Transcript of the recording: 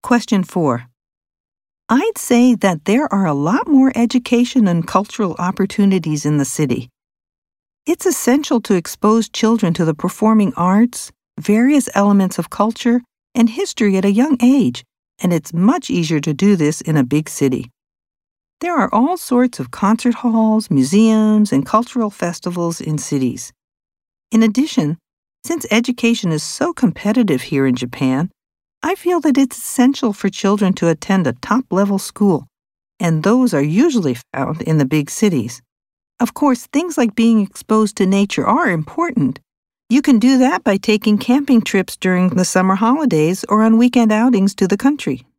Question 4. I'd say that there are a lot more education and cultural opportunities in the city. It's essential to expose children to the performing arts, various elements of culture, and history at a young age, and it's much easier to do this in a big city. There are all sorts of concert halls, museums, and cultural festivals in cities. In addition, since education is so competitive here in Japan, I feel that it's essential for children to attend a top-level school, and those are usually found in the big cities. Of course, things like being exposed to nature are important. You can do that by taking camping trips during the summer holidays or on weekend outings to the country.